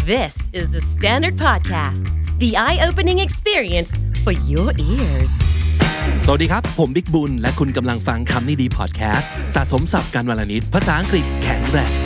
This is the Standard Podcast, the eye-opening experience for your ears. สวัสดีครับผมบิ๊กบุญและคุณกำลังฟังคำนี้ดีพอดแคสต์สะสมศัพท์กันวลนิดภาษาอังกฤษแข็งแรง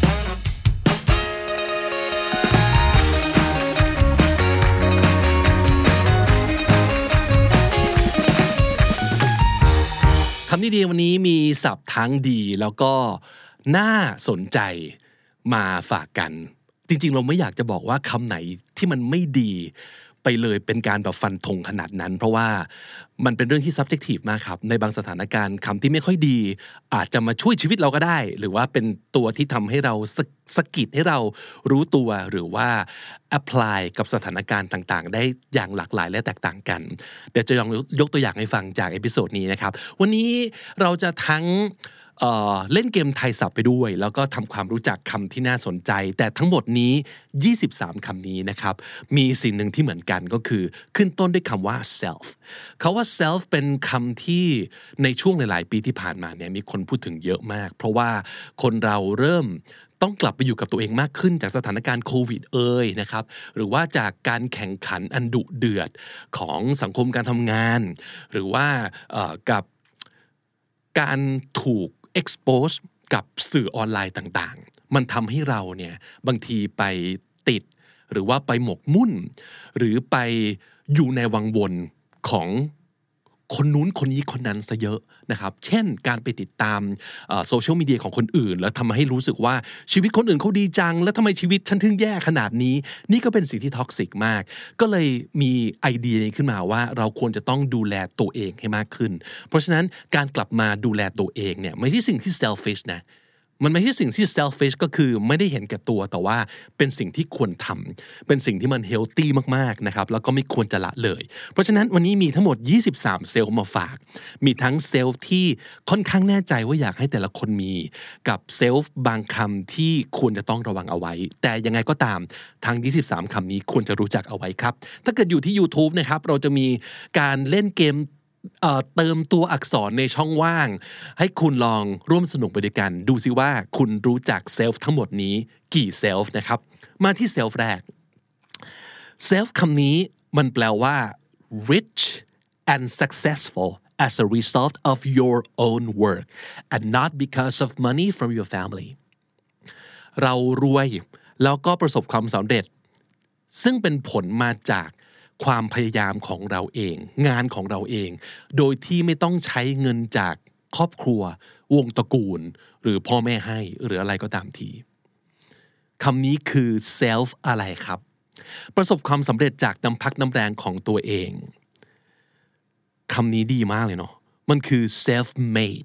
คำนี้ดีวันนี้มีศัพท์ทั้งดีแล้วก็น่าสนใจมาฝากกันจริงๆเราไม่อยากจะบอกว่าคำไหนที่มันไม่ดีไปเลยเป็นการแบบฟันธงขนาดนั้นเพราะว่ามันเป็นเรื่องที่ subjective มากครับในบางสถานการณ์คำที่ไม่ค่อยดีอาจจะมาช่วยชีวิตเราก็ได้หรือว่าเป็นตัวที่ทำให้เราสะกิดให้เรารู้ตัวหรือว่า apply กับสถานการณ์ต่างๆได้อย่างหลากหลายและแตกต่างกันเดี๋ยวจะยกตัวอย่างให้ฟังจากเอพิโซดนี้นะครับวันนี้เราจะทั้งเล่นเกมไทยศัพท์ไปด้วยแล้วก็ทำความรู้จักคำที่น่าสนใจแต่ทั้งหมดนี้23คำนี้นะครับมีสิ่งหนึ่งที่เหมือนกันก็คือขึ้นต้นด้วยคำว่า self คำว่า self เป็นคำที่ในช่วงหลายๆปีที่ผ่านมาเนี่ยมีคนพูดถึงเยอะมากเพราะว่าคนเราเริ่มต้องกลับไปอยู่กับตัวเองมากขึ้นจากสถานการณ์โควิดนะครับหรือว่าจากการแข่งขันอันดุเดือดของสังคมการทำงานหรือว่ากับการถูกexpose กับสื่อออนไลน์ต่างๆมันทำให้เราเนี่ยบางทีไปติดหรือว่าไปหมกมุ่นหรือไปอยู่ในวังวนของคนนู้นคนนี้คนนั้นซะเยอะนะครับเช่นการไปติดตามโซเชียลมีเดียของคนอื่นแล้วทำให้รู้สึกว่าชีวิตคนอื่นเขาดีจังแล้วทำไมชีวิตฉันถึงแย่ขนาดนี้นี่ก็เป็นสิ่งที่ท็อกซิกมากก็เลยมีไอเดียนี้ขึ้นมาว่าเราควรจะต้องดูแลตัวเองให้มากขึ้นเพราะฉะนั้นการกลับมาดูแลตัวเองเนี่ยไม่ใช่สิ่งที่ selfish นะมันไม่ใช่สิ่งที่ selfish ก็คือไม่ได้เห็นแก่ตัวแต่ว่าเป็นสิ่งที่ควรทำเป็นสิ่งที่มัน healthy มากๆนะครับแล้วก็ไม่ควรจะละเลยเพราะฉะนั้นวันนี้มีทั้งหมด23เซลล์มาฝากมีทั้งเซลล์ที่ค่อนข้างแน่ใจว่าอยากให้แต่ละคนมีกับเซลล์บางคำที่ควรจะต้องระวังเอาไว้แต่ยังไงก็ตามทั้ง23คำนี้ควรจะรู้จักเอาไว้ครับถ้าเกิดอยู่ที่ YouTube นะครับเราจะมีการเล่นเกมเติมตัวอักษรในช่องว่างให้คุณลองร่วมสนุกไปด้วยกันดูซิว่าคุณรู้จักเซลฟ์ทั้งหมดนี้กี่เซลฟ์นะครับมาที่เซลฟ์แรกเซลฟ์คำนี้มันแปลว่า rich and successful as a result of your own work and not because of money from your family เรารวยแล้วก็ประสบความสำเร็จซึ่งเป็นผลมาจากความพยายามของเราเองงานของเราเองโดยที่ไม่ต้องใช้เงินจากครอบครัววงตระกูลหรือพ่อแม่ให้หรืออะไรก็ตามทีคำนี้คือ self อะไรครับประสบความสำเร็จจากน้ำพักน้ำแรงของตัวเองคำนี้ดีมากเลยเนาะมันคือ self made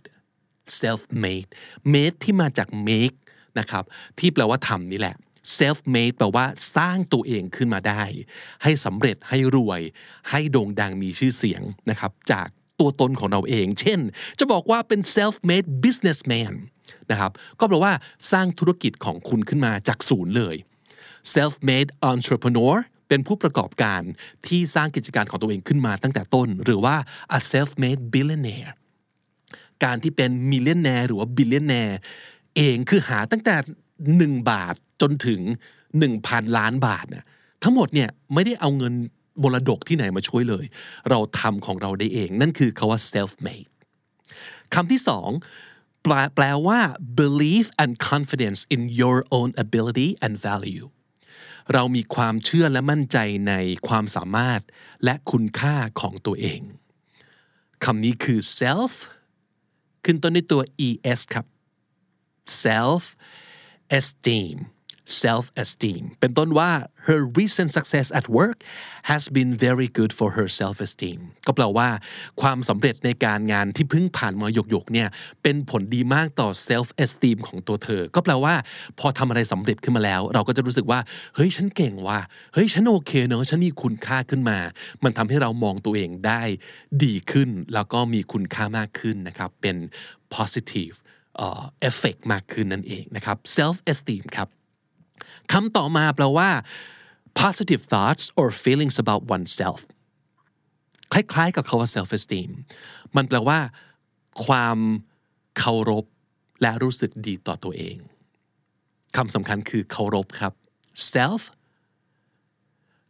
made ที่มาจาก make นะครับที่แปลว่าทำนี่แหละself made แปลว่าสร้างตัวเองขึ้นมาได้ให้สำเร็จให้รวยให้โด่งดังมีชื่อเสียงนะครับจากตัวตนของเราเองเช่นจะบอกว่าเป็น self made businessman นะครับก็แปลว่าสร้างธุรกิจของคุณขึ้นมาจากศูนย์เลย self made entrepreneur เป็นผู้ประกอบการที่สร้างกิจการของตัวเองขึ้นมาตั้งแต่ต้นหรือว่า a self made billionaire การที่เป็น millionaire หรือว่า billionaire เองคือหาตั้งแต่1 บาทจนถึง 1,000 ล้านบาทนะทั้งหมดเนี่ยไม่ได้เอาเงินมรดกที่ไหนมาช่วยเลยเราทำของเราได้เองนั่นคือคำว่า self made คำที่สองแปลว่า belief and confidence in your own ability and value เรามีความเชื่อและมั่นใจในความสามารถและคุณค่าของตัวเองคำนี้คือ self ขึ้นต้นด้วยตัว es ครับ self esteemเป็นต้นว่า her recent success at work has been very good for her self-esteem ก็แปลว่าความสำเร็จในการงานที่เพิ่งผ่านมาหยกๆเนี่ยเป็นผลดีมากต่อ self-esteem ของตัวเธอก็แปลว่าพอทำอะไรสำเร็จขึ้นมาแล้วเราก็จะรู้สึกว่าเฮ้ยฉันเก่งว่ะเฮ้ยฉันโอเคเนอะฉันมีคุณค่าขึ้นมามันทำให้เรามองตัวเองได้ดีขึ้นแล้วก็มีคุณค่ามากขึ้นนะครับเป็น positive effect มากขึ้นนั่นเองนะครับ self-esteem ครับคำต่อมาแปลว่า positive thoughts or feelings about oneself คล้ายๆกับคำว่า self esteem มันแปลว่าความเคารพและรู้สึกดีต่อตัวเองคำสำคัญคือเคารพครับ self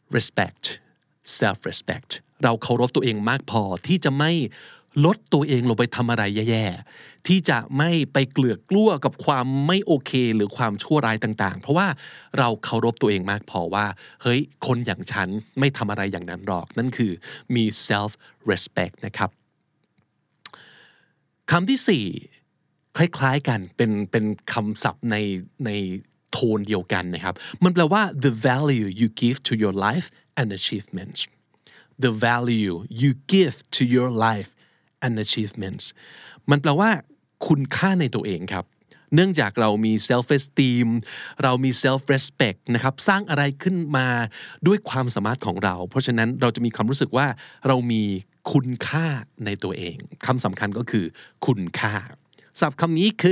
respect self respect เราเคารพตัวเองมากพอที่จะไม่ลดตัวเองลงไปทำอะไรแย่ๆที่จะไม่ไปเกลือกกลั้วกับความไม่โอเคหรือความชั่วร้ายต่างๆเพราะว่าเราเคารพตัวเองมากพอว่าเฮ้ยคนอย่างฉันไม่ทำอะไรอย่างนั้นหรอกนั่นคือมี self respect นะครับคำที่สี่คล้ายๆกันเป็นคำศัพท์ในโทนเดียวกันนะครับมันแปลว่า the value you give to your life and achievements the value you give to your life and achievements มันแปลว่าคุณค่าในตัวเองครับเนื่องจากเรามี self esteem เรามี self respect นะครับสร้างอะไรขึ้นมาด้วยความสามารถของเราเพราะฉะนั้นเราจะมีความรู้สึกว่าเรามีคุณค่าในตัวเองคำสำคัญก็คือคุณค่าศัพท์คำนี้คือ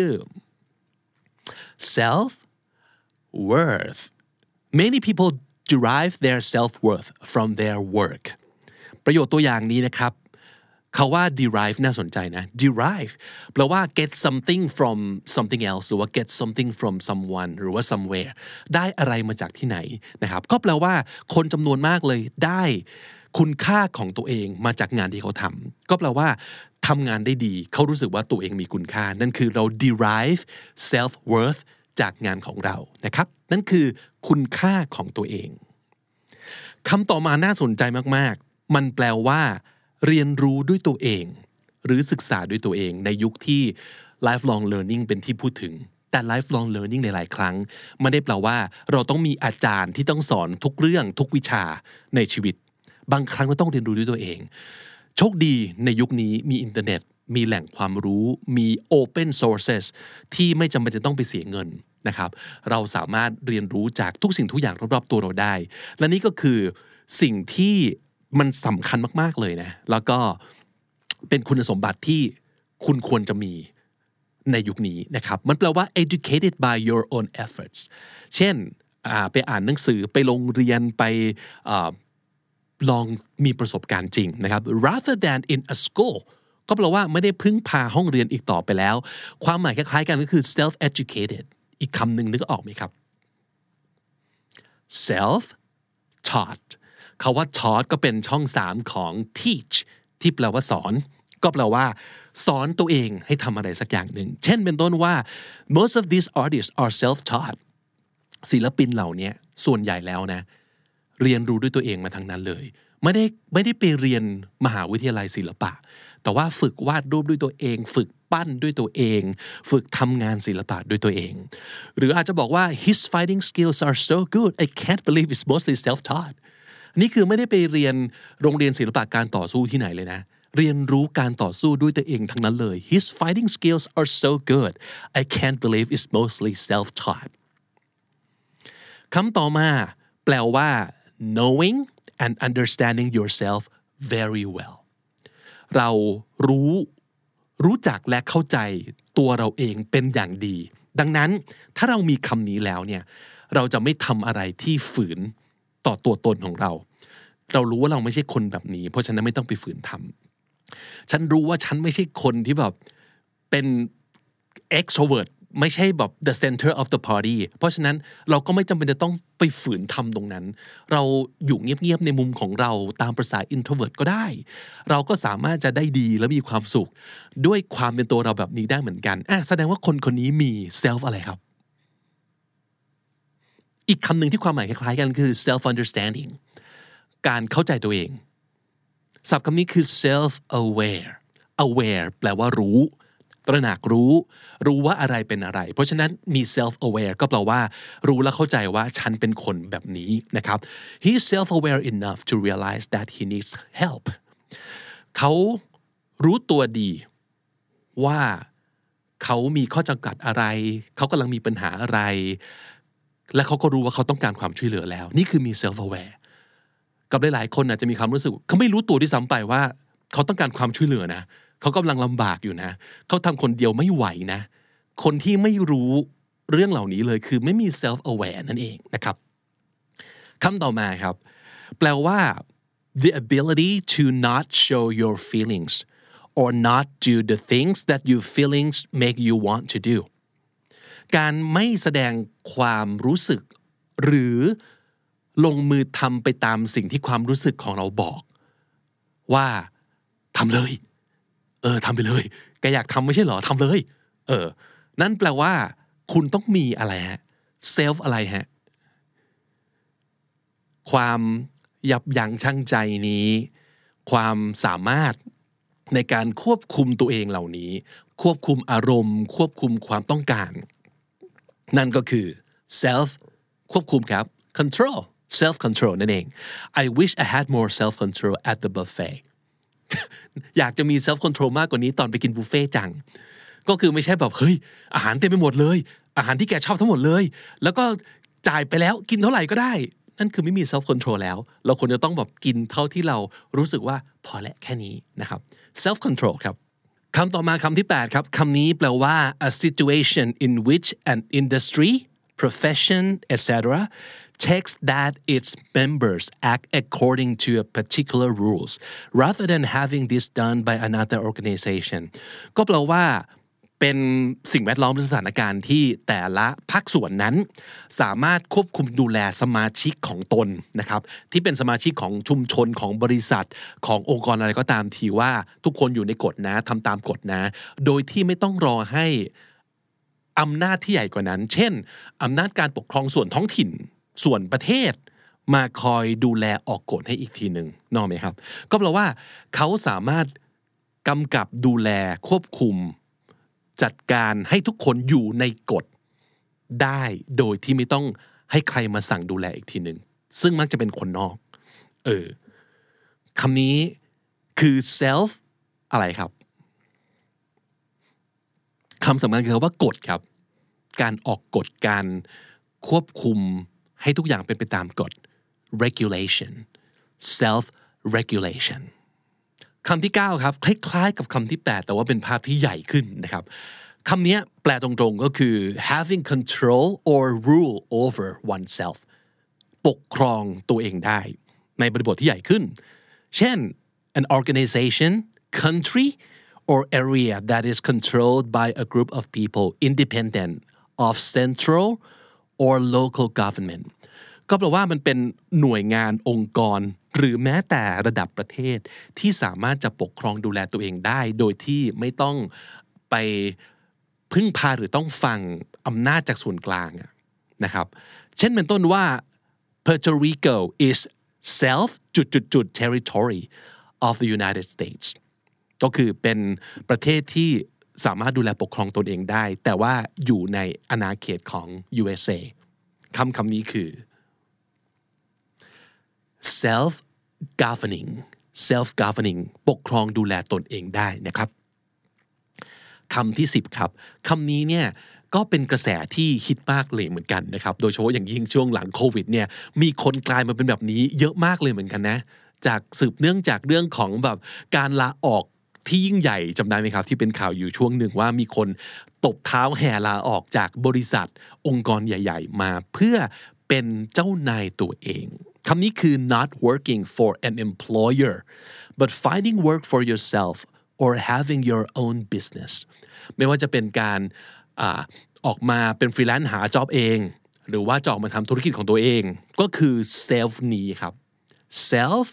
self worth many people derive their self worth from their work ประโยชน์ตัวอย่างนี้นะครับเขาว่า derive น่าสนใจนะ derive แปลว่า get something from something else หรือว่า get something from someone หรือว่า somewhere ได้อะไรมาจากที่ไหนนะครับก็แปลว่าคนจำนวนมากเลยได้คุณค่าของตัวเองมาจากงานที่เขาทำก็แปลว่าทำงานได้ดีเขารู้สึกว่าตัวเองมีคุณค่านั่นคือเรา derive self worth จากงานของเรานะครับนั่นคือคุณค่าของตัวเองคำต่อมาน่าสนใจมากๆมันแปลว่าเรียนรู้ด้วยตัวเองหรือศึกษาด้วยตัวเองในยุคที่ lifelong learning เป็นที่พูดถึงแต่ lifelong learning หลายๆครั้งไม่ได้แปลว่าเราต้องมีอาจารย์ที่ต้องสอนทุกเรื่องทุกวิชาในชีวิตบางครั้งเราต้องเรียนรู้ด้วยตัวเองโชคดีในยุคนี้มีอินเทอร์เน็ตมีแหล่งความรู้มี open sources ที่ไม่จำเป็นจะต้องไปเสียเงินนะครับเราสามารถเรียนรู้จากทุกสิ่งทุกอย่างรอบๆตัวเราได้และนี่ก็คือสิ่งที่มันสำคัญมากๆเลยนะแล้วก็เป็นคุณสมบัติที่คุณควรจะมีในยุคนี้นะครับมันแปลว่า educated by your own efforts เช่นไปอ่านหนังสือไปโรงเรียนไปลองมีประสบการณ์จริงนะครับ rather than in a school ก็แปลว่าไม่ได้พึ่งพาห้องเรียนอีกต่อไปแล้วความหมายคล้ายๆกันก็คือ self educated อีกคำหนึ่งนึกออกไหมครับ self taught คำว่า taught ก็เป็นช่อง3ของ teach ที่แปลว่าสอนก็แปลว่าสอนตัวเองให้ทำอะไรสักอย่างหนึ่งเช่นเป็นต้นว่า most of these artists are self taught ศิลปินเหล่านี้ส่วนใหญ่แล้วนะเรียนรู้ด้วยตัวเองมาทั้งนั้นเลยไม่ได้ไปเรียนมหาวิทยาลัยศิลปะแต่ว่าฝึกวาดรูปด้วยตัวเองฝึกปั้นด้วยตัวเองฝึกทำงานศิลปะด้วยตัวเองหรืออาจจะบอกว่า his fighting skills are so good I can't believe it's mostly self taught นี่คือไม่ได้ไปเรียนโรงเรียนศิลปะการต่อสู้ที่ไหนเลยนะเรียนรู้การต่อสู้ด้วยตัวเองทั้งนั้นเลย his fighting skills are so good I can't believe it's mostly self taught คำต่อมาแปลว่าknowing and understanding yourself very well เรารู้จักและเข้าใจตัวเราเองเป็นอย่างดีดังนั้นถ้าเรามีคำนี้แล้วเนี่ยเราจะไม่ทำอะไรที่ฝืนต่อตัวตนของเรารู้ว่าเราไม่ใช่คนแบบนี้เพราะฉะนั้นไม่ต้องไปฝืนทำฉันรู้ว่าฉันไม่ใช่คนที่แบบเป็น extrovertไม่ใช่แบบ the center of the party เพราะฉะนั้นเราก็ไม่จำเป็นจะต้องไปฝืนทำตรงนั้นเราอยู่เงียบๆในมุมของเราตามประสา introvert ก็ได้เราก็สามารถจะได้ดีและมีความสุขด้วยความเป็นตัวเราแบบนี้ได้เหมือนกันแสดงว่าคนนี้มี self อะไรครับอีกคำหนึ่งที่ความหมายคล้ายๆกันคือ self understanding การเข้าใจตัวเองศัพท์คำนี้คือ self aware แปลว่ารู้ตระหนักรู้ว่าอะไรเป็นอะไรเพราะฉะนั้นมี self aware ก็แปลว่ารู้และเข้าใจว่าฉันเป็นคนแบบนี้นะครับ he is self aware enough to realize that he needs help เขารู้ตัวดีว่าเขามีข้อจำกัดอะไรเขากำลังมีปัญหาอะไรและเขาก็รู้ว่าเขาต้องการความช่วยเหลือแล้วนี่คือมี self aware กับหลายๆคนอาจจะมีความรู้สึกเขาไม่รู้ตัวที่ซ้ำไปว่าเขาต้องการความช่วยเหลือนะเขากำลังลำบากอยู่นะเขาทำคนเดียวไม่ไหวนะคนที่ไม่รู้เรื่องเหล่านี้เลยคือไม่มี self aware นั่นเองนะครับคำต่อมาครับแปลว่า the ability to not show your feelings or not do the things that your feelings make you want to do การไม่แสดงความรู้สึกหรือลงมือทำไปตามสิ่งที่ความรู้สึกของเราบอกว่าทำเลยทำไปเลยแกอยากทำไม่ใช่เหรอทำเลยนั่นแปลว่าคุณต้องมีอะไรฮะเซลฟ์อะไรฮะความยับยั้งชั่งใจนี้ความสามารถในการควบคุมตัวเองเหล่านี้ควบคุมอารมณ์ควบคุมความต้องการนั่นก็คือ self ควบคุมครับ control self control นั่นเอง I wish I had more self control at the buffet อยากจะมี self control มากกว่านี้ตอนไปกินบุฟเฟ่จังก็คือไม่ใช่แบบเฮ้ยอาหารเต็มไปหมดเลยอาหารที่แกชอบทั้งหมดเลยแล้วก็จ่ายไปแล้วกินเท่าไหร่ก็ได้นั่นคือไม่มี self control แล้วเราควรจะต้องแบบกินเท่าที่เรารู้สึกว่าพอและแค่นี้นะครับ self control ครับคำต่อมาคำที่8ครับคำนี้แปลว่า a situation in which an industry profession etc takes that its members act according to a particular rules rather than having this done by another organization ก็แปลว่าเป็นสิ่งแวดล้อมหรือสถานการณ์ที่แต่ละภาคส่วนนั้นสามารถควบคุมดูแลสมาชิกของตนนะครับที่เป็นสมาชิกของชุมชนของบริษัทขององค์กรอะไรก็ตามทีว่าทุกคนอยู่ในกฎนะทำตามกฎนะโดยที่ไม่ต้องรอให้อำนาจที่ใหญ่กว่านั้นเช่นอำนาจการปกครองส่วนท้องถิ่นส่วนประเทศมาคอยดูแลออกกฎให้อีกทีหนึ่งนึกออกไหมครับก็แปลว่าเขาสามารถกำกับดูแลควบคุมจัดการให้ทุกคนอยู่ในกฎได้โดยที่ไม่ต้องให้ใครมาสั่งดูแลอีกทีหนึ่งซึ่งมักจะเป็นคนนอกคำนี้คือ self อะไรครับคำสำคัญคือคำว่ากฎครับการออกกฎการควบคุมให้ทุกอย่างเป็นไปตามกฎ regulation self regulation คำที่9ครับคล้ายๆกับคำที่8แต่ว่าเป็นภาพที่ใหญ่ขึ้นนะครับคำนี้แปลตรงๆก็คือ having control or rule over oneself ปกครองตัวเองได้ในบริบทที่ใหญ่ขึ้นเช่น an organization country or area that is controlled by a group of people independent of central or local government ก็แปลว่ามันเป็นหน่วยงานองค์กรหรือแม้แต่ระดับประเทศที่สามารถจะปกครองดูแลตัวเองได้โดยที่ไม่ต้องไปพึ่งพาหรือต้องฟังอำนาจจากส่วนกลางนะครับเช่นเป็นต้นว่า Puerto Rico is self territory of the United States ก็คือเป็นประเทศที่สามารถดูแลปกครองตนเองได้แต่ว่าอยู่ในอาณาเขตของ USA คำนี้คือ self governing ปกครองดูแลตนเองได้นะครับคำที่10ครับคำนี้เนี่ยก็เป็นกระแสที่ฮิตมากเลยเหมือนกันนะครับโดยเฉพาะอย่างยิ่งช่วงหลังโควิดเนี่ยมีคนกลายมาเป็นแบบนี้เยอะมากเลยเหมือนกันนะจากสืบเนื่องจากเรื่องของแบบการลาออกที่ยิ่งใหญ่จำได้ไหมครับที่เป็นข่าวอยู่ช่วงหนึ่งว่ามีคนตบเท้าแห่ลาออกจากบริษัทองค์กรใหญ่ๆมาเพื่อเป็นเจ้านายตัวเองคำนี้คือ not working for an employer but finding work for yourself or having your own business ไม่ว่าจะเป็นการออกมาเป็นฟรีแลนซ์หาจ็อบเองหรือว่าจะออกมาทำธุรกิจของตัวเองก็คือ self นี้ครับ self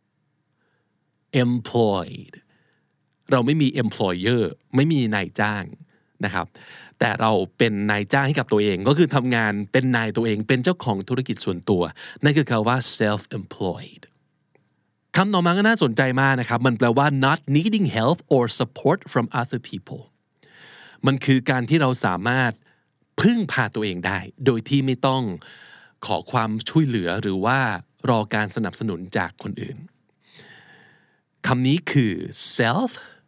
employed เราไม่มี employer ไม่มีนายจ้างนะครับแต่เราเป็นนายจ้างให้กับตัวเองก็คือทำงานเป็นนายตัวเองเป็นเจ้าของธุรกิจส่วนตัวนั่นคือคำว่า self employed คำต่อมาก็น่าสนใจมากนะครับมันแปลว่า not needing help or support from other people มันคือการที่เราสามารถพึ่งพาตัวเองได้โดยที่ไม่ต้องขอความช่วยเหลือหรือว่ารอการสนับสนุนจากคนอื่นคำนี้คือ self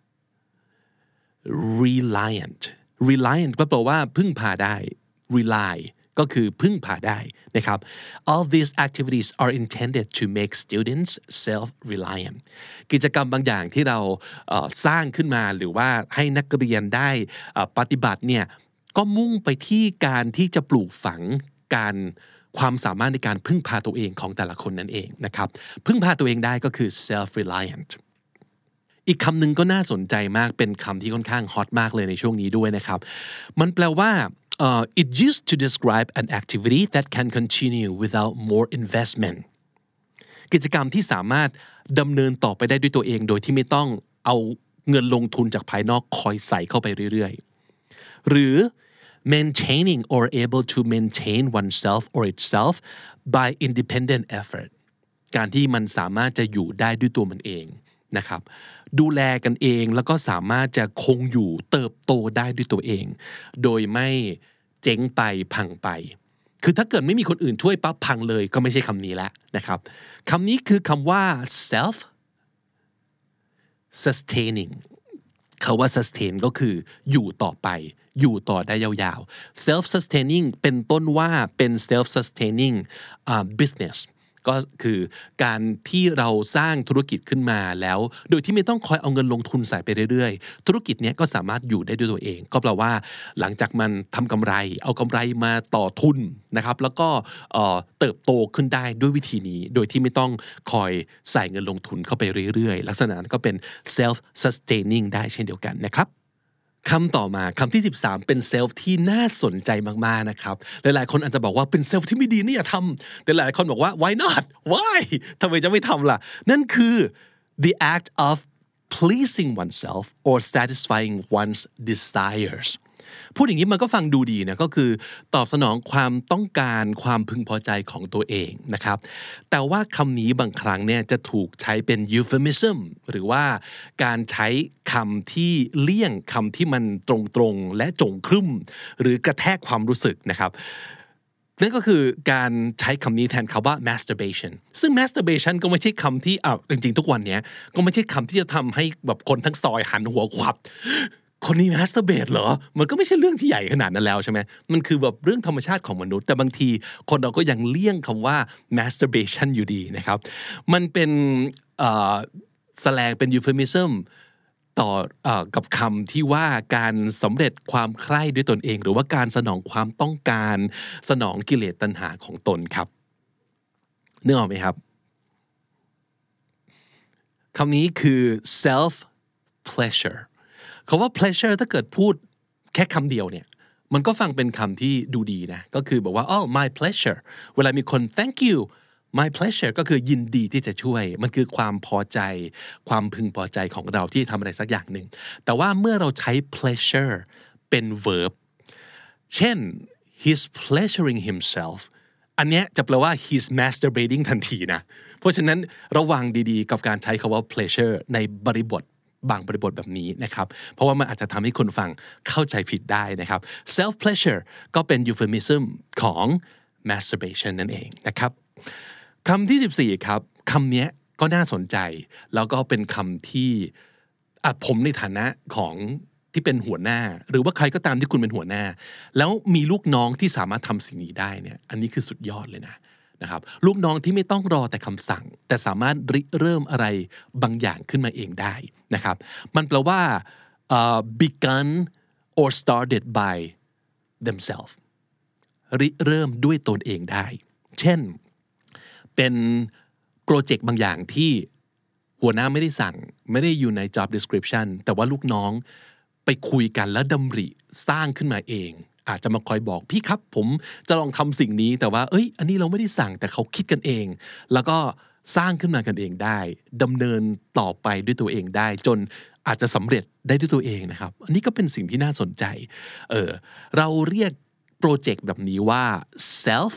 reliant ก็แปลว่าพึ่งพาได้ rely ก็คือพึ่งพาได้นะครับ all these activities are intended to make students self-reliant กิจกรรมบางอย่างที่เราสร้างขึ้นมาหรือว่าให้นักเรียนได้ปฏิบัติเนี่ยก็มุ่งไปที่การที่จะปลูกฝังความสามารถในการพึ่งพาตัวเองของแต่ละคนนั่นเองนะครับพึ่งพาตัวเองได้ก็คือ self-reliant อีกคำหนึ่งก็น่าสนใจมากเป็นคำที่ค่อนข้างฮอตมากเลยในช่วงนี้ด้วยนะครับมันแปลว่า it used to describe an activity that can continue without more investment กิจกรรมที่สามารถดำเนินต่อไปได้ด้วยตัวเองโดยที่ไม่ต้องเอาเงินลงทุนจากภายนอกคอยใส่เข้าไปเรื่อยๆหรือ maintaining or able to maintain oneself or itself by independent effort การที่มันสามารถจะอยู่ได้ด้วยตัวมันเองนะครับดูแลกันเองแล้วก็สามารถจะคงอยู่เติบโตได้ด้วยตัวเองโดยไม่เจ๊งไปพังไปคือถ้าเกิดไม่มีคนอื่นช่วยปั๊บพังเลยก็ไม่ใช่คำนี้แล้วนะครับคำนี้คือคำว่า self sustaining คำว่า sustain ก็คืออยู่ต่อไปอยู่ต่อได้ยาวๆ self sustaining เป็นต้นว่าเป็น self sustaining business ก็คือการที่เราสร้างธุรกิจขึ้นมาแล้วโดยที่ไม่ต้องคอยเอาเงินลงทุนใส่ไปเรื่อยๆธุรกิจนี้ก็สามารถอยู่ได้ด้วยตัวเองก็แปลว่าหลังจากมันทำกำไรเอากำไรมาต่อทุนนะครับแล้วก็เติบโตขึ้นได้ด้วยวิธีนี้โดยที่ไม่ต้องคอยใส่เงินลงทุนเข้าไปเรื่อยๆลักษณะนั้นก็เป็น self sustaining ได้เช่นเดียวกันนะครับคำต่อมาคำที่13เป็นเซลฟ์ที่น่าสนใจมากๆนะครับหลายๆคนอาจจะบอกว่าเป็นเซลฟ์ที่ไม่ดีนี่อย่าทำแต่หลายคนบอกว่า why not why ทำไมจะไม่ทำล่ะนั่นคือ the act of pleasing oneself or satisfying one's desires พูดอย่างนี้มันก็ฟังดูดีนะก็คือตอบสนองความต้องการความพึงพอใจของตัวเองนะครับแต่ว่าคำนี้บางครั้งเนี่ยจะถูกใช้เป็น euphemism หรือว่าการใช้คำที่เลี่ยงคำที่มันตรงๆและจงครึ่มหรือกระแทกความรู้สึกนะครับนั่นก็คือการใช้คำนี้แทนคำว่า masturbation ซึ่ง masturbation ก็ไม่ใช่คำที่จริงๆทุกวันนี้ก็ไม่ใช่คำที่จะทำให้แบบคนทั้งซอยหันหัวขวับคนนี้ masturbate เหรอมันก็ไม่ใช่เรื่องที่ใหญ่ขนาดนั้นแล้วใช่ไหมมันคือแบบเรื่องธรรมชาติของมนุษย์แต่บางทีคนเราก็ยังเลี่ยงคำว่า masturbation อยู่ดีนะครับมันเป็นแสลงเป็น euphemism ต่อกับคำที่ว่าการสำเร็จความใคร่ด้วยตนเองหรือว่าการสนองความต้องการสนองกิเลสตัณหาของตนครับนึกออกไหมครับคำนี้คือ self pleasure คำว่า pleasure ถ้าเกิดพูดแค่คำเดียวเนี่ยมันก็ฟังเป็นคำที่ดูดีนะก็คือบอกว่า oh my pleasure เวลามีคน thank you my pleasure ก็คือยินดีที่จะช่วยมันคือความพอใจความพึงพอใจของเราที่ทำอะไรสักอย่างหนึ่งแต่ว่าเมื่อเราใช้ pleasure เป็น verb เช่น he's pleasuring himself อันเนี้ยจะแปลว่า he's masturbating ทันทีนะเพราะฉะนั้นระวังดีๆกับการใช้คำว่า pleasure ในบริบทบางบริบทแบบนี้นะครับเพราะว่ามันอาจจะทำให้คนฟังเข้าใจผิดได้นะครับ self pleasure ก็เป็น euphemism ของ masturbation นั่นเองนะครับคำที่14ครับคำนี้ก็น่าสนใจแล้วก็เป็นคำที่ผมในฐานะของที่เป็นหัวหน้าหรือว่าใครก็ตามที่คุณเป็นหัวหน้าแล้วมีลูกน้องที่สามารถทำสิ่งนี้ได้เนี่ยอันนี้คือสุดยอดเลยนะครับลูกน้องที่ไม่ต้องรอแต่คำสั่งแต่สามารถริเริ่มอะไรบางอย่างขึ้นมาเองได้นะครับมันแปลว่าbegun or started by themselves ริเริ่มด้วยตนเองได้เช่นเป็นโปรเจกต์บางอย่างที่หัวหน้าไม่ได้สั่งไม่ได้อยู่ใน job description แต่ว่าลูกน้องไปคุยกันแล้วดำริสร้างขึ้นมาเองอาจจะมาคอยบอกพี่ครับผมจะลองทำสิ่งนี้แต่ว่าอันนี้เราไม่ได้สั่งแต่เขาคิดกันเองแล้วก็สร้างขึ้นมากันเองได้ดำเนินต่อไปด้วยตัวเองได้จนอาจจะสำเร็จได้ด้วยตัวเองนะครับอันนี้ก็เป็นสิ่งที่น่าสนใจเราเรียกโปรเจกต์แบบนี้ว่า self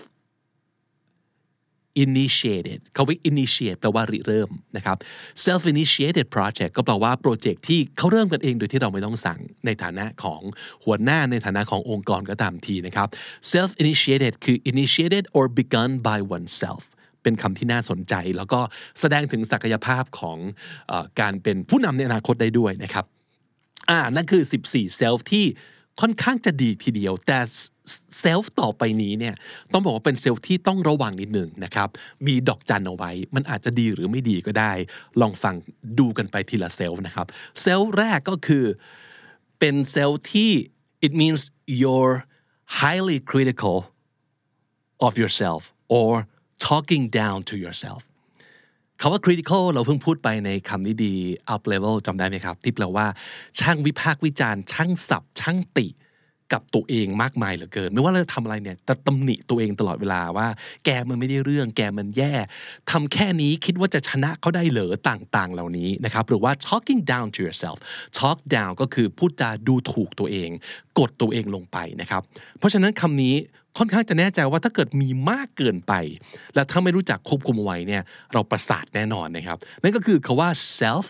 initiated คำว่า initiate แปลว่าริเริ่มนะครับ self initiated project ก็แปลว่าโปรเจกต์ที่เขาเริ่มกันเองโดยที่เราไม่ต้องสั่งในฐานะของหัวหน้าในฐานะขององค์กรก็ตามทีนะครับ self initiated คือ initiated or begun by oneself เป็นคำที่น่าสนใจแล้วก็แสดงถึงศักยภาพของการเป็นผู้นำในอนาคตได้ด้วยนะครับนั่นคือ14 self ที่ค่อนข้างจะดีทีเดียวแต่เซลฟ์ต่อไปนี้เนี่ยต้องบอกว่าเป็นเซลฟ์ที่ต้องระวังนิดหนึ่งนะครับมีดอกจันเอาไว้มันอาจจะดีหรือไม่ดีก็ได้ลองฟังดูกันไปทีละเซลฟ์นะครับเซลฟ์แรกก็คือเป็นเซลฟ์ที่ it means you're highly critical of yourself or talking down to yourself คำว่า critical เราเพิ่งพูดไปในคำนี้ดี up level จำได้ไหมครับที่แปลว่าช่างวิพากษ์วิจารณ์ช่างสับช่างติกับตัวเองมากมายเหลือเกินไม่ว่าเราจะทำอะไรเนี่ยจะตำหนิตัวเองตลอดเวลาว่าแกมันไม่ได้เรื่องแกมันแย่ทำแค่นี้คิดว่าจะชนะเขาได้เหรอต่างๆเหล่านี้นะครับหรือว่า talking down to yourself talk down ก็คือพูดจาดูถูกตัวเองกดตัวเองลงไปนะครับเพราะฉะนั้นคำนี้ค่อนข้างจะแน่ใจว่าถ้าเกิดมีมากเกินไปและถ้าไม่รู้จักควบคุมไว้เนี่ยเราประสาทแน่นอนนะครับนั่นก็คือคำว่า self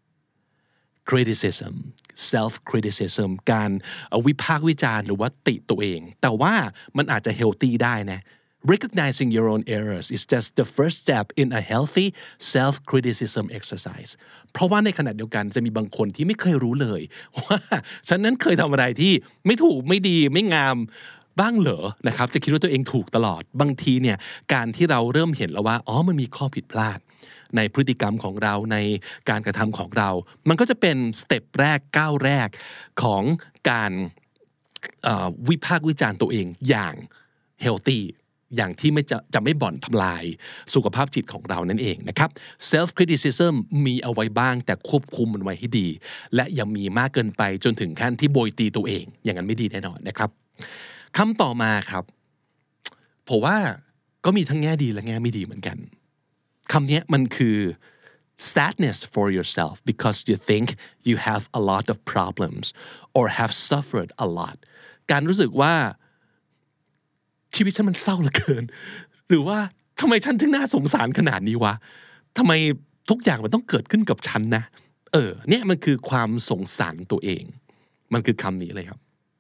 criticism การวิพากษ์วิจารณ์หรือว่าติตัวเองแต่ว่ามันอาจจะ healthy ได้นะ recognizing your own errors is just the first step in a healthy self criticism exercise เพราะว่าในขณะเดียวกันจะมีบางคนที่ไม่เคยรู้เลยว่าฉันนั้นเคยทำอะไรที่ไม่ถูกไม่ดีไม่งามบ้างเหรอนะครับจะคิดว่าตัวเองถูกตลอดบางทีเนี่ยการที่เราเริ่มเห็นแล้วว่ามันมีข้อผิดพลาดในพฤติกรรมของเราในการกระทำของเรามันก็จะเป็นสเต็ปแรกก้าวแรกของการวิพากษ์วิจารณ์ตัวเองอย่างเฮลตี้อย่างที่จะไม่บ่อนทำลายสุขภาพจิตของเรานั่นเองนะครับ self criticism มีเอาไว้บ้างแต่ควบคุมมันไว้ให้ดีและอย่ามีมากเกินไปจนถึงขั้นที่โบยตีตัวเองอย่างนั้นไม่ดีแน่นอนนะครับคำต่อมาครับผมว่าก็มีทั้งแง่ดีและแง่ไม่ดีเหมือนกันคำนี้มันคือ sadness for yourself because you think you have a lot of problems or have suffered a lot การรู้สึกว่าชีวิตฉันมันเศร้าเหลือเกินหรือว่าทำไมฉันถึงน่าสงสารขนาดนี้วะทำไมทุกอย่างมันต้องเกิดขึ้นกับฉันนะเนี่ยมันคือความสงสารตัวเองมันคือคำนี้เลยครับ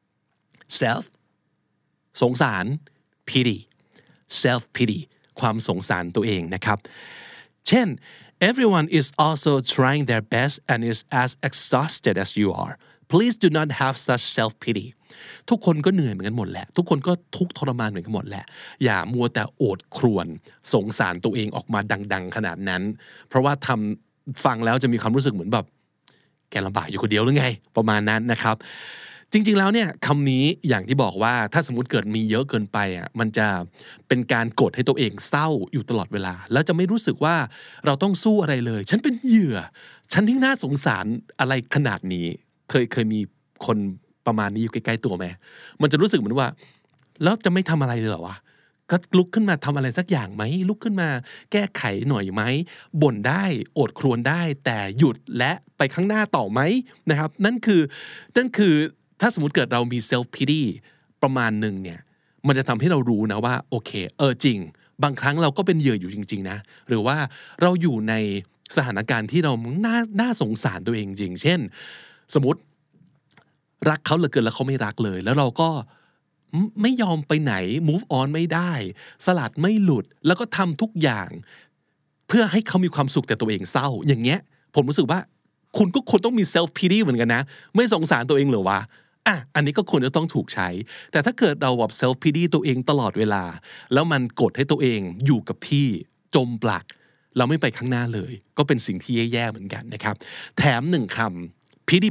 self สงสาร pity self pity ความสงสารตัวเองนะครับเช่น everyone is also trying their best and is as exhausted as you are please do not have such self pity ทุกคนก็เหนื่อยเหมือนกันหมดแหละทุกคนก็ทุกข์ทรมานเหมือนกันหมดแหละอย่ามัวแต่โอดครวญสงสารตัวเองออกมาดังๆขนาดนั้นเพราะว่าฟังแล้วจะมีความรู้สึกเหมือนแบบแกลำบากอยู่คนเดียวหรือไงประมาณนั้นนะครับจริงๆแล้วเนี่ยคำนี้อย่างที่บอกว่าถ้าสมมติเกิดมีเยอะเกินไปมันจะเป็นการกดให้ตัวเองเศร้าอยู่ตลอดเวลาแล้วจะไม่รู้สึกว่าเราต้องสู้อะไรเลยฉันเป็นเหยื่อฉันที่น่าสงสารอะไรขนาดนี้เคยมีคนประมาณนี้อยู่ใกล้ๆตัวไหมมันจะรู้สึกเหมือนว่าแล้วจะไม่ทำอะไรเลยเหรอวะก็ลุกขึ้นมาทำอะไรสักอย่างไหมลุกขึ้นมาแก้ไขหน่อยไหมบ่นได้โอดครวญได้แต่หยุดและไปข้างหน้าต่อไหมนะครับนั่นคือถ้าสมมติเกิดเรามี self pity ประมาณหนึ่งเนี่ยมันจะทำให้เรารู้นะว่าโอเคจริงบางครั้งเราก็เป็นเหยื่ออยู่จริงๆนะหรือว่าเราอยู่ในสถานการณ์ที่เราน่าสงสารตัวเองจริงเช่นสมมติรักเขาเหลือเกินแล้วเขาไม่รักเลยแล้วเราก็ไม่ยอมไปไหน move on ไม่ได้สลัดไม่หลุดแล้วก็ทำทุกอย่างเพื่อให้เขามีความสุขแต่ตัวเองเศร้าอย่างเงี้ยผมรู้สึกว่าคุณก็ควรต้องมี self pity เหมือนกันนะไม่สงสารตัวเองเหรอวะอันนี้ก็ควรจะต้องถูกใช้แต่ถ้าเกิดเราแบบ self pity ตัวเองตลอดเวลาแล้วมันกดให้ตัวเองอยู่กับที่จมปลักเราไม่ไปข้างหน้าเลยก็เป็นสิ่งที่แย่ๆเหมือนกันนะครับแถมหนึ่งคำ pity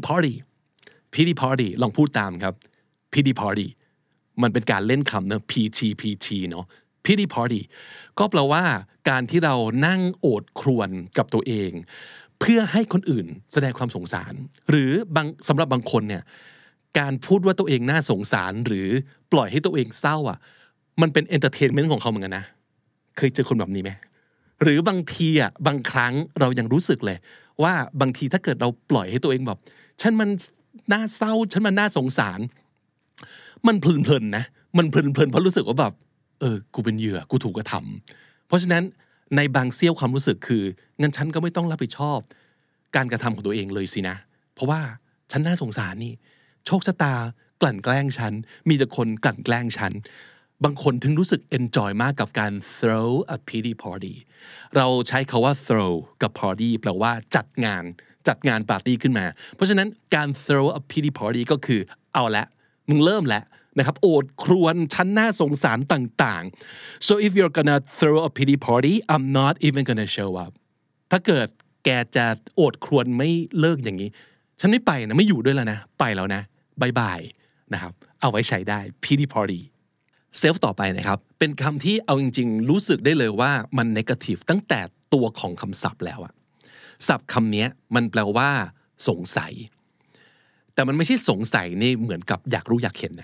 party ลองพูดตามครับ pity party มันเป็นการเล่นคำนะ PT เนาะ pity party ก็แปลว่าการที่เรานั่งโอดครวญกับตัวเองเพื่อให้คนอื่นแสดงความสงสารหรือสำหรับบางคนเนี่ยการพูดว่าตัวเองน่าสงสารหรือปล่อยให้ตัวเองเศร้ามันเป็นเอนเตอร์เทนเมนต์ของเขาเหมือนกันนะเคยเจอคนแบบนี้ไหมหรือบางทีบางครั้งเรายังรู้สึกเลยว่าบางทีถ้าเกิดเราปล่อยให้ตัวเองแบบฉันมันน่าเศร้าฉันมันน่าสงสารมันเพลินๆนะมันเพลินเพราะรู้สึกว่าแบบกูเป็นเหยื่อกูถูกกระทำเพราะฉะนั้นในบางเสี้ยวความรู้สึกคืองั้นฉันก็ไม่ต้องรับผิดชอบการกระทำของตัวเองเลยสินะเพราะว่าฉันน่าสงสารนี่โชคชะตากลั่นแกล้งฉันมีแต่คนกลั่นแกล้งฉันบางคนถึงรู้สึก enjoy มากกับการ throw a pity party เราใช้คาว่า throw กับ party แปลว่าจัดงานปาร์ตี้ขึ้นมาเพราะฉะนั้นการ throw a pity party ก็คือเอาละมึงเริ่มแล้วนะครับโอดครวญชั้นน่าสงสารต่างๆ so if you're gonna throw a pity party I'm not even gonna show up ถ้าเกิดแกจะโอดครวญไม่เลิกอย่างนี้ฉันไม่ไปนะไม่อยู่ด้วยแล้วนะไปแล้วนะบายบายนะครับเอาไว้ใช้ได้ pity party self ต่อไปนะครับเป็นคำที่เอาจริงๆรู้สึกได้เลยว่ามัน negative ตั้งแต่ตัวของคำศัพท์แล้วศัพท์คำนี้มันแปลว่าสงสัยแต่มันไม่ใช่สงสัยนี่เหมือนกับอยากรู้อยากเห็นนะ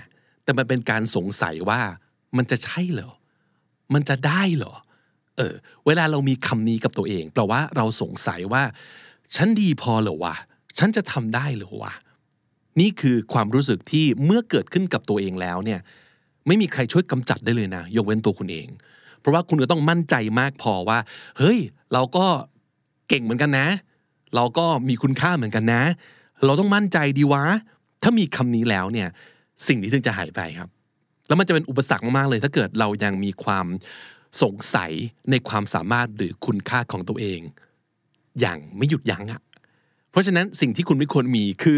แต่มันเป็นการสงสัยว่ามันจะใช่เหรอมันจะได้เหรอเวลาเรามีคำนี้กับตัวเองแปลว่าเราสงสัยว่าฉันดีพอเหรอวะฉันจะทำได้เหรอวะนี่คือความรู้สึกที่เมื่อเกิดขึ้นกับตัวเองแล้วเนี่ยไม่มีใครช่วยกำจัดได้เลยนะยกเว้นตัวคุณเองเพราะว่าคุณก็ต้องมั่นใจมากพอว่าเฮ้ยเราก็เก่งเหมือนกันนะเราก็มีคุณค่าเหมือนกันนะเราต้องมั่นใจดีวะถ้ามีคำนี้แล้วเนี่ยสิ่งนี้ถึงจะหายไปครับแล้วมันจะเป็นอุปสรรคมากๆเลยถ้าเกิดเรายังมีความสงสัยในความสามารถหรือคุณค่าของตัวเองอย่างไม่หยุดยั้งอ่ะเพราะฉะนั้นสิ่งที่คุณไม่ควรมีคือ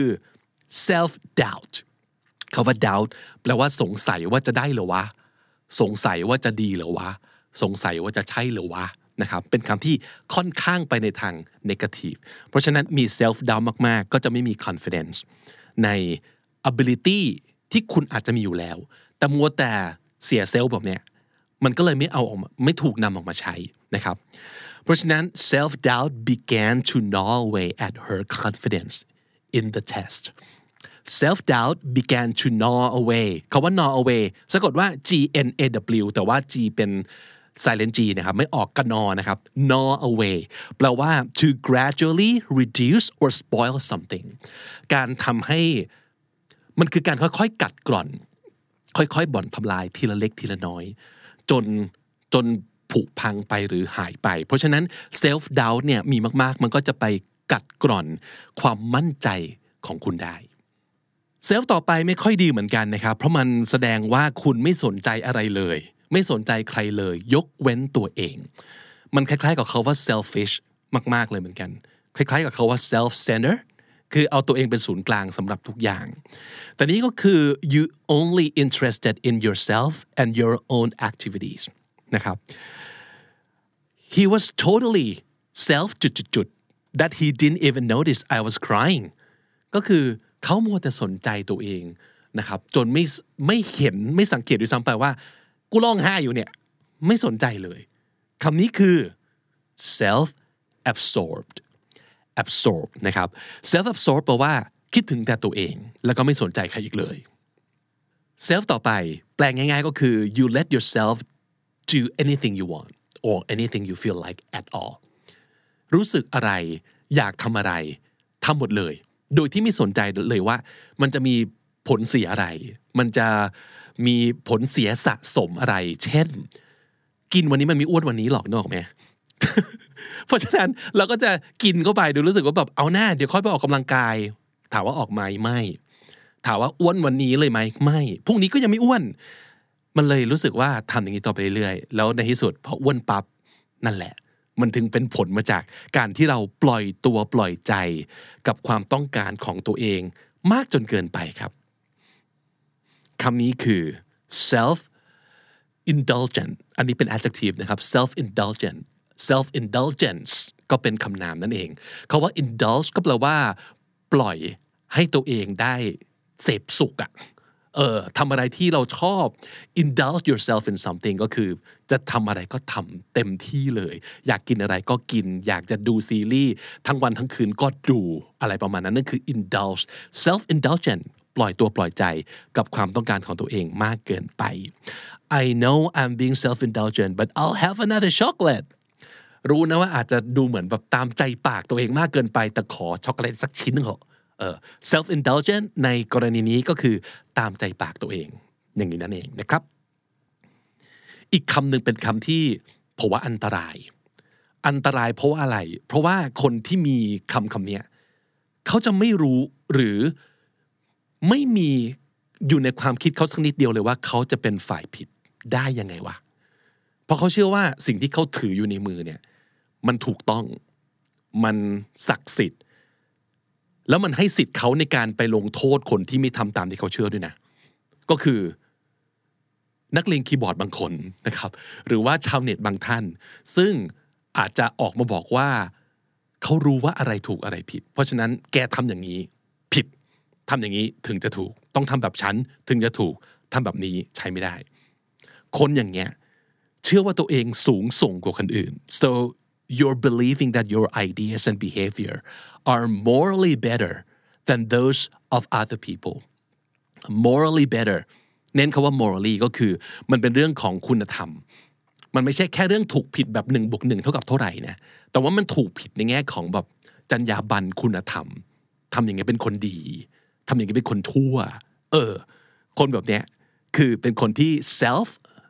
self doubt คำว่า doubt แปลว่าสงสัยว่าจะได้เหรอวะสงสัยว่าจะดีเหรอวะสงสัยว่าจะใช่เหรอวะนะครับเป็นคำที่ค่อนข้างไปในทาง negative เพราะฉะนั้นมี self doubt มากๆก็จะไม่มี confidence ใน ability ที่คุณอาจจะมีอยู่แล้วแต่มัวแต่เสียเซลล์แบบเนี้ยมันก็เลยไม่ถูกนำออกมาใช้นะครับเพราะฉะนั้น self doubt began to gnaw away at her confidence in the test self doubt began to gnaw away คำว่า gnaw away สะกดว่า G N A W แต่ว่า G เป็น silent G นะครับไม่ออกกระนอนะครับ gnaw away แปลว่า to gradually reduce or spoil something การทำให้มันคือการค่อยๆกัดกร่อนค่อยๆบ่อนทำลายทีละเล็กทีละน้อยจนผุพังไปหรือหายไปเพราะฉะนั้น self doubt เนี่ยมีมากๆมันก็จะไปกัดกร่อนความมั่นใจของคุณได้ self ต่อไปไม่ค่อยดีเหมือนกันนะครับเพราะมันแสดงว่าคุณไม่สนใจอะไรเลยไม่สนใจใครเลยยกเว้นตัวเองมันคล้ายๆกับคำว่า selfish มากๆเลยเหมือนกันคล้ายๆกับคำว่า self-centeredคือเอาตัวเองเป็นศูนย์กลางสำหรับทุกอย่างแต่นี้ก็คือ you only interested in yourself and your own activities นะครับ he was totally self that he didn't even notice I was crying ก็คือเขามัวแต่สนใจตัวเองนะครับจนไม่เห็นไม่สังเกตด้วยซ้ำไปว่ากูร้องไห้อยู่เนี่ยไม่สนใจเลยคำนี้คือ self absorbedนะครับ self absorbed แปลว่าคิดถึงแต่ตัวเองแล้วก็ไม่สนใจใครอีกเลย self ต่อไปแปลงง่ายๆก็คือ you let yourself do anything you want or anything you feel like at all รู้สึกอะไรอยากทำอะไรทำหมดเลยโดยที่ไม่สนใจเลยว่ามันจะมีผลเสียอะไรมันจะมีผลเสียสะสมอะไรเช่นกินวันนี้มันมีอ้วนวันนี้หรอกนึกออกไหม เพราะฉะนั้นเราก็จะกินเข้าไปดูรู้สึกว่าแบบเอาหน้าเดี๋ยวค่อยไปออกกำลังกายถามว่าออกไหมไม่ถามว่าอ้วนวันนี้เลยไหมไม่พรุ่งนี้ก็ยังไม่อ้วนมันเลยรู้สึกว่าทำอย่างนี้ต่อไปเรื่อยๆแล้วในที่สุดพออ้วนปั๊บนั่นแหละมันถึงเป็นผลมาจากการที่เราปล่อยตัวปล่อยใจกับความต้องการของตัวเองมากจนเกินไปครับคำนี้คือ self indulgent อันนี้เป็น adjective นะครับ self indulgence ก็เป็นคำนามนั่นเองคำว่า indulge ก็แปลว่าปล่อยให้ตัวเองได้เสพสุขอะทำอะไรที่เราชอบ indulge yourself in something ก็คือจะทำอะไรก็ทำเต็มที่เลยอยากกินอะไรก็กินอยากจะดูซีรีส์ทั้งวันทั้งคืนก็ดูอะไรประมาณนั้นนั่นคือ indulge self indulgent ปล่อยตัวปล่อยใจกับความต้องการของตัวเองมากเกินไป I know I'm being self-indulgent but I'll have another chocolate รู้นะว่าอาจจะดูเหมือนแบบตามใจปากตัวเองมากเกินไปแต่ขอช็อกโกแลตสักชิ้นเถอะself-indulgent ในกรณีนี้ก็คือตามใจปากตัวเองอย่างนี้นั่นเองนะครับอีกคำหนึ่งเป็นคำที่ผมว่าอันตรายเพราะว่าอะไรเพราะว่าคนที่มีคำนี้เขาจะไม่รู้หรือไม่มีอยู่ในความคิดเขาสักนิดเดียวเลยว่าเขาจะเป็นฝ่ายผิดได้ยังไงวะเพราะเขาเชื่อว่าสิ่งที่เขาถืออยู่ในมือเนี่ยมันถูกต้องมันศักดิ์สิทธิ์แล้วมันให้สิทธิ์เขาในการไปลงโทษคนที่ไม่ทำตามที่เขาเชื่อด้วยนะก็คือนักเลงคีย์บอร์ดบางคนนะครับหรือว่าชาวเน็ตบางท่านซึ่งอาจจะออกมาบอกว่าเขารู้ว่าอะไรถูกอะไรผิดเพราะฉะนั้นแกทำอย่างนี้ผิดทำอย่างนี้ถึงจะถูกต้องทำแบบฉันถึงจะถูกทำแบบนี้ใช้ไม่ได้คนอย่างเงี้ยเชื่อว่าตัวเองสูงส่งกว่าคนอื่น so you're believing that your ideas and behavior are morally better than those of other people morally better เน้นคำว่า morally ก็คือมันเป็นเรื่องของคุณธรรมมันไม่ใช่แค่เรื่องถูกผิดแบบ1 + 1 เท่ากับเท่าไหร่นะแต่ว่ามันถูกผิดในแง่ของแบบจรรยาบรรณคุณธรรมทำอย่างไงเป็นคนดีทำอย่างไงเป็นคนชั่วคนแบบเนี้ยคือเป็นคนที่ self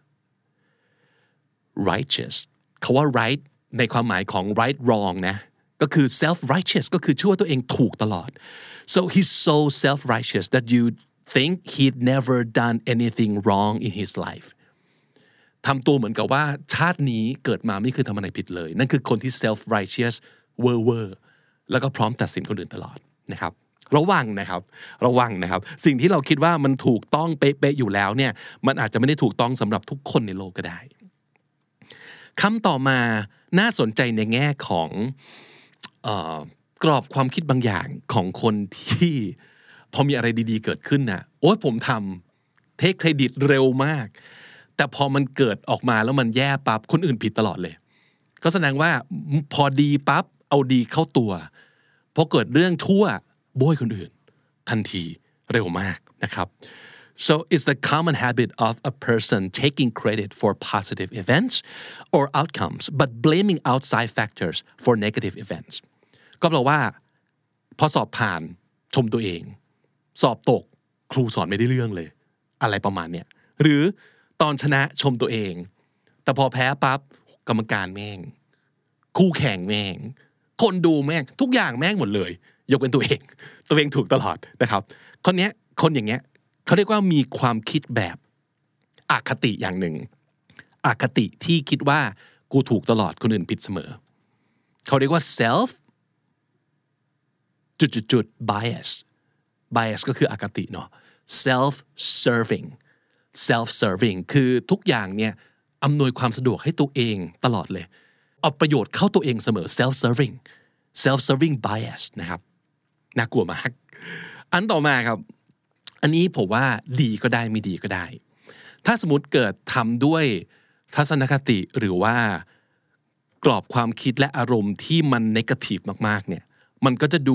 righteous คำว่า right ในความหมายของ right wrong นะก็คือ self righteous ก็คือเชื่อว่าตัวเองถูกตลอด so he's so self righteous that you think he'd never done anything wrong in his life ทำตัวเหมือนกับว่าชาตินี้เกิดมาไม่เคยทำอะไรผิดเลยนั่นคือคนที่ self righteous เวอร์แล้วก็พร้อมตัดสินคนอื่นตลอดนะครับระวังนะครับสิ่งที่เราคิดว่ามันถูกต้องเป๊ะๆอยู่แล้วเนี่ยมันอาจจะไม่ได้ถูกต้องสำหรับทุกคนในโลกก็ได้คำต่อมาน่าสนใจในแง่ของกรอบความคิดบางอย่างของคนที่พอมีอะไรดีๆเกิดขึ้นนะโอ๊ยผมทำเทคเครดิตเร็วมากแต่พอมันเกิดออกมาแล้วมันแย่ปั๊บคนอื่นผิดตลอดเลยก็แสดงว่าพอดีปั๊บเอาดีเข้าตัวพอเกิดเรื่องชั่วโบยคนอื่นทันทีเร็วมากนะครับ so it's the common habit of a person taking credit for positive events or outcomes but blaming outside factors for negative events ก็แปลว่าพอสอบผ่านชมตัวเองสอบตกครูสอนไม่ได้เรื่องเลยอะไรประมาณเนี้ยหรือตอนชนะชมตัวเองแต่พอแพ้ปั๊บกรรมการแม่งคู่แข่งแม่งคนดูแม่งทุกอย่างแม่งหมดเลยยกเป็นตัวเองถูกตลอดนะครับคนอย่างเงี้ยเขาเรียกว่ามีความคิดแบบอคติอย่างหนึ่งอคติที่คิดว่ากูถูกตลอดคนอื่นผิดเสมอเขาเรียกว่า self bias ก็คืออคติเนาะ self serving คือทุกอย่างเนี่ยอำนวยความสะดวกให้ตัวเองตลอดเลยเอาประโยชน์เข้าตัวเองเสมอ self serving bias นะครับน่ากลัวมากอันต่อมาครับอันนี้ผมว่าดีก็ได้ไม่ดีก็ได้ถ้าสมมติเกิดทำด้วยทัศนคติหรือว่ากรอบความคิดและอารมณ์ที่มันเนกาทีฟมากๆเนี่ยมันก็จะดู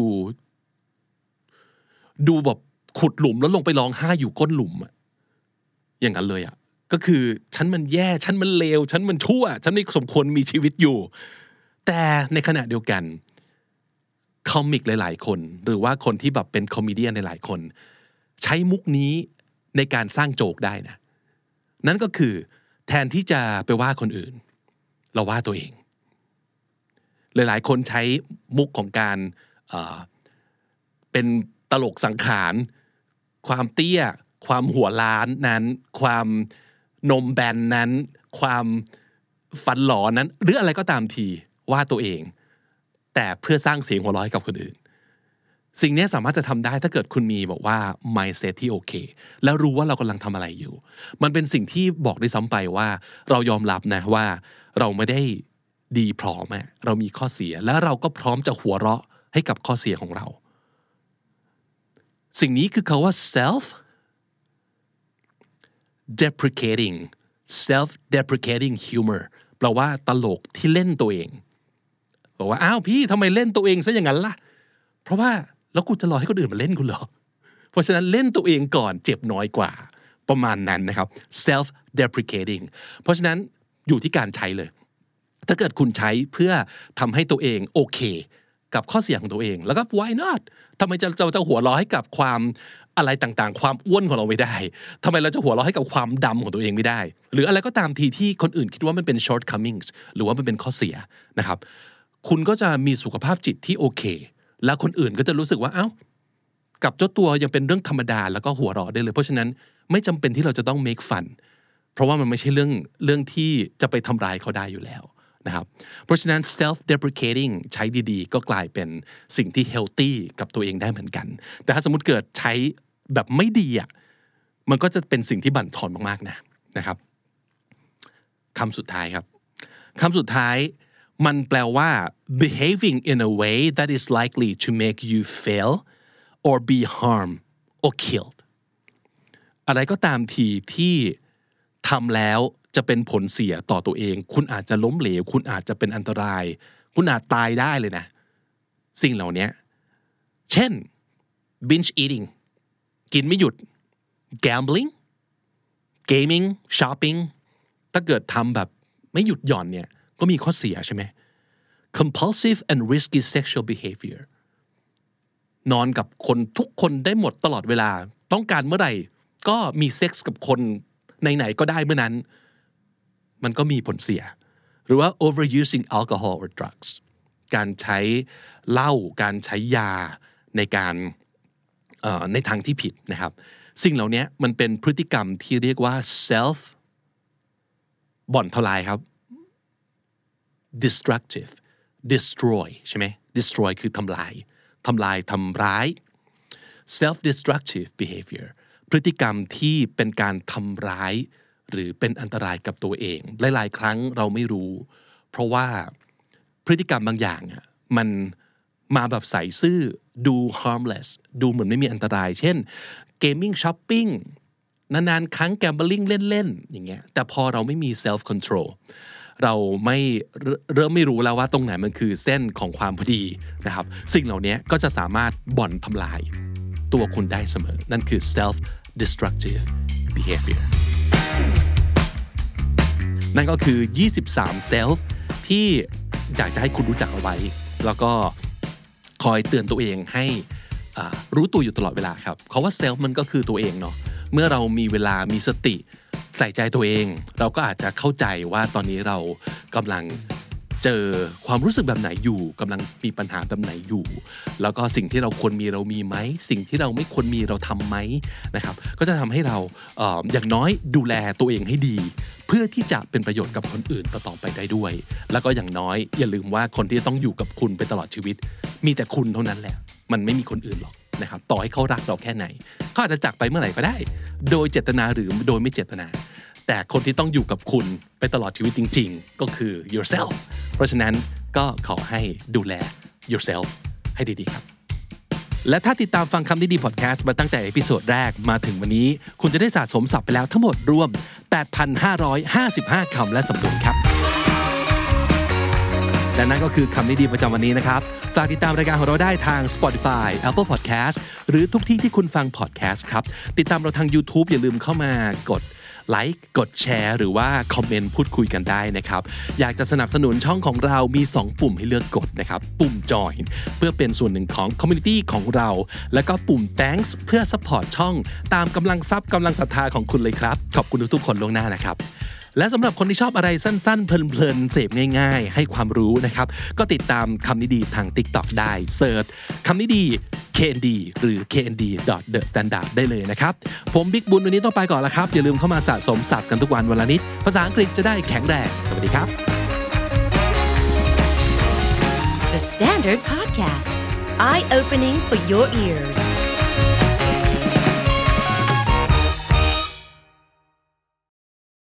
แบบขุดหลุมแล้วลงไปร้องไห้อยู่ก้นหลุมอย่างนั้นเลยก็คือฉันมันแย่ฉันมันเลวฉันมันชั่วฉันไม่สมควรมีชีวิตอยู่แต่ในขณะเดียวกันคอมิกหลายๆคนหรือว่าคนที่แบบเป็นคอมเมเดียนหลายๆคนใช้มุกนี้ในการสร้างโจกได้นะนั่นก็คือแทนที่จะไปว่าคนอื่นเราว่าตัวเองหลายๆคนใช้มุกของการเป็นตลกสังขารความเตี้ยความหัวล้านนั้นความนมแบนนั้นความฟันหลอนั้นหรืออะไรก็ตามทีว่าตัวเองแต่เพื่อสร้างเสียงหัวเราะให้กับคนอื่นสิ่งนี้สามารถจะทำได้ถ้าเกิดคุณมีบอกว่า mindset ที่โอเคแล้วรู้ว่าเรากำลังทำอะไรอยู่มันเป็นสิ่งที่บอกได้ซ้ำไปว่าเรายอมรับนะว่าเราไม่ได้ดีพร้อมเรามีข้อเสียแล้วเราก็พร้อมจะหัวเราะให้กับข้อเสียของเราสิ่งนี้คือคำว่า self deprecating humor แปลว่าตลกที่เล่นตัวเองบอกว่าอ้าวพี่ทำไมเล่นตัวเองซะอย่างนั้นล่ะเพราะว่าแล้วกูจะรอให้คนอื่นมาเล่นกูเหรอเพราะฉะนั้นเล่นตัวเองก่อนเจ็บน้อยกว่าประมาณนั้นนะครับ self deprecating เพราะฉะนั้นอยู่ที่การใช้เลยถ้าเกิดคุณใช้เพื่อทำให้ตัวเองโอเคกับข้อเสียของตัวเองแล้วก็ why not ทำไมจะหัวเราะให้กับความอะไรต่างๆความอ้วนของเราไม่ได้ทำไมเราจะหัวเราะให้กับความดำของตัวเองไม่ได้หรืออะไรก็ตามทีที่คนอื่นคิดว่ามันเป็น shortcomings หรือว่ามันเป็นข้อเสียนะครับคุณก็จะมีสุขภาพจิตที่โอเคแล้วคนอื่นก็จะรู้สึกว่าเอ้ากับเจ้าตัวยังเป็นเรื่องธรรมดาแล้วก็หัวเราะได้เลยเพราะฉะนั้นไม่จำเป็นที่เราจะต้อง make fun เพราะว่ามันไม่ใช่เรื่องที่จะไปทำร้ายเขาได้อยู่แล้วนะครับเพราะฉะนั้น self deprecating ใช้ดีๆก็กลายเป็นสิ่งที่ healthy กับตัวเองได้เหมือนกันแต่ถ้าสมมุติเกิดใช้แบบไม่ดีมันก็จะเป็นสิ่งที่บั่นทอนมากๆนะครับคำสุดท้ายครับคำสุดท้ายมันแปลว่า behaving in a way that is likely to make you fail or be harmed or killed อะไรก็ตามทีที่ทำแล้วจะเป็นผลเสียต่อตัวเองคุณอาจจะล้มเหลวคุณอาจจะเป็นอันตรายคุณอาจตายได้เลยนะสิ่งเหล่านี้เช่น binge eating กินไม่หยุด gambling gaming shopping ถ้าเกิดทำแบบไม่หยุดหย่อนเนี่ยก็มีข้อเสียใช่ไหม compulsive and risky sexual behavior นอนกับคนทุกคนได้หมดตลอดเวลาต้องการเมื่อไหร่ก็มีเซ็กส์กับคนไหนๆก็ได้เมื่อนั้นมันก็มีผลเสียหรือว่า overusing alcohol or drugs การใช้เหล้าการใช้ยาในการในทางที่ผิดนะครับสิ่งเหล่านี้มันเป็นพฤติกรรมที่เรียกว่า self บ่อนทลายครับ destructive destroy ใช่ไหม destroy คือทำลายทำร้าย self destructive behavior พฤติกรรมที่เป็นการทำร้ายหรือเป็นอันตรายกับตัวเองหลายๆครั้งเราไม่รู้เพราะว่าพฤติกรรมบางอย่างมันมาแบบใส่ซื่อดู harmless ดูเหมือนไม่มีอันตรายเช่น gaming shopping นานๆครั้ง gambling เล่นๆอย่างเงี้ยแต่พอเราไม่มี self control เราเริ่มไม่รู้แล้วว่าตรงไหนมันคือเส้นของความพอดีนะครับสิ่งเหล่านี้ก็จะสามารถบ่อนทำลายตัวคุณได้เสมอนั่นคือ self destructive behavior นั่นก็คือ23 self ที่อยากจะให้คุณรู้จักเอาไว้แล้วก็คอยเตือนตัวเองให้รู้ตัวอยู่ตลอดเวลาครับเพราะว่า self มันก็คือตัวเองเนาะเมื่อเรามีเวลามีสติใส่ใจตัวเองเราก็อาจจะเข้าใจว่าตอนนี้เรากำลังเจอความรู้สึกแบบไหนอยู่กำลังมีปัญหาแบบไหนอยู่แล้วก็สิ่งที่เราควรมีเรามีไหมสิ่งที่เราไม่ควรมีเราทำไหมนะครับก็จะทำให้เราอย่างน้อยดูแลตัวเองให้ดีเพื่อที่จะเป็นประโยชน์กับคนอื่นต่อไปได้ด้วยแล้วก็อย่างน้อยอย่าลืมว่าคนที่ต้องอยู่กับคุณไปตลอดชีวิตมีแต่คุณเท่านั้นแหละมันไม่มีคนอื่นหรอกนะครับต่อให้เขารักเราแค่ไหนเขาอาจจะจากไปเมื่อไหร่ก็ได้โดยเจตนาหรือโดยไม่เจตนาแต่คนที่ต้องอยู่กับคุณไปตลอดชีวิตจริงๆก็คือ yourself เพราะฉะนั้นก็ขอให้ดูแล yourself ให้ดีๆครับและถ้าติดตามฟังคำนี้ดีพอดแคสต์มาตั้งแต่เอพิโซดแรกมาถึงวันนี้คุณจะได้สะสมศัพท์ไปแล้วทั้งหมดรวม 8,555 คำและสำนวนครับและนั่นก็คือคำนี้ดีประจำวันนี้นะครับฝากติดตามรายการของเราได้ทาง Spotify Apple Podcast หรือทุกที่ที่คุณฟัง podcast ครับติดตามเราทาง YouTube อย่าลืมเข้ามากดไลค์กดแชร์หรือว่าคอมเมนต์พูดคุยกันได้นะครับอยากจะสนับสนุนช่องของเรามี2ปุ่มให้เลือกกดนะครับปุ่ม Join เพื่อเป็นส่วนหนึ่งของ Community ของเราแล้วก็ปุ่ม Thanks เพื่อ Support ช่องตามกำลังทรัพย์กำลังศรัทธาของคุณเลยครับขอบคุณทุกๆคนล่วงหน้านะครับและสำหรับคนที่ชอบอะไรสั้นๆเพลินๆเสพง่ายๆให้ความรู้นะครับก็ติดตามคำนี้ดีทาง TikTok ได้เสิร์ชคำนี้ดี KND หรือ knd.thestandard ได้เลยนะครับผมบิ๊กบุญวันนี้ต้องไปก่อนแล้วครับอย่าลืมเข้ามาสะสมศัพท์กันทุกวันวันละนิดภาษาอังกฤษจะได้แข็งแรงสวัสดีครับ The Standard Podcast Eye Opening for Your Ears